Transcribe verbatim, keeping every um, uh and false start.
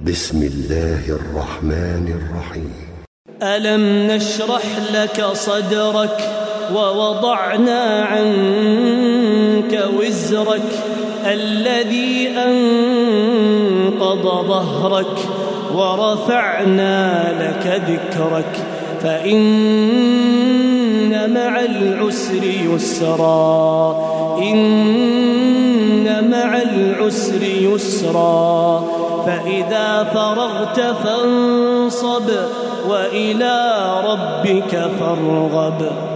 بسم الله الرحمن الرحيم. ألم نشرح لك صدرك ووضعنا عنك وزرك الذي أنقض ظهرك ورفعنا لك ذكرك فإن مع العسر يسرا إن مع العسر يسرا فإذا فرغت فانصب وإلى ربك فارغب.